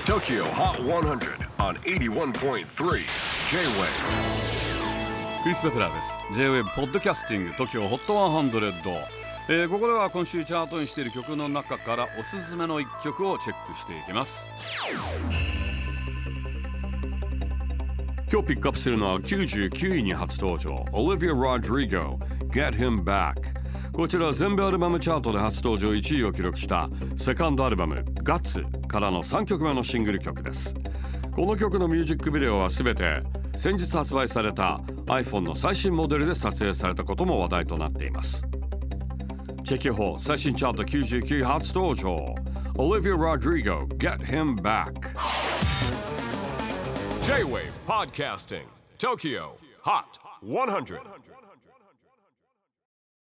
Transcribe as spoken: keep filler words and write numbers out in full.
Tokyo Hot one hundred on エイティワンポイントスリー J-Wave。 クリス・ベプラーです。 J-Wave ポッドキャスティング TOKYO ホットハンドレッド、えー、ここでは今週チャートにしている曲の中からおすすめのいっきょくをチェックしていきます。今日ピックアップするのはきゅうじゅうきゅういに初登場 Olivia Rodrigo Get Him Back。 こちらは全米アルバムチャートで初登場いちいを記録したセカンドアルバム Guts からのさんきょくめのシングル曲です。この曲のミュージックビデオはすべて先日発売された iPhone の最新モデルで撮影されたことも話題となっています。チェキホー最新チャートきゅうじゅうきゅうい初登場 Olivia Rodrigo Get Him Back。 J-Wave Podcasting Tokyo Hot one hundred。